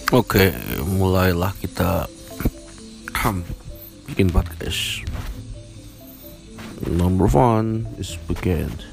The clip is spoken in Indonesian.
Oke, mulailah kita bikin podcast. Number one is begin.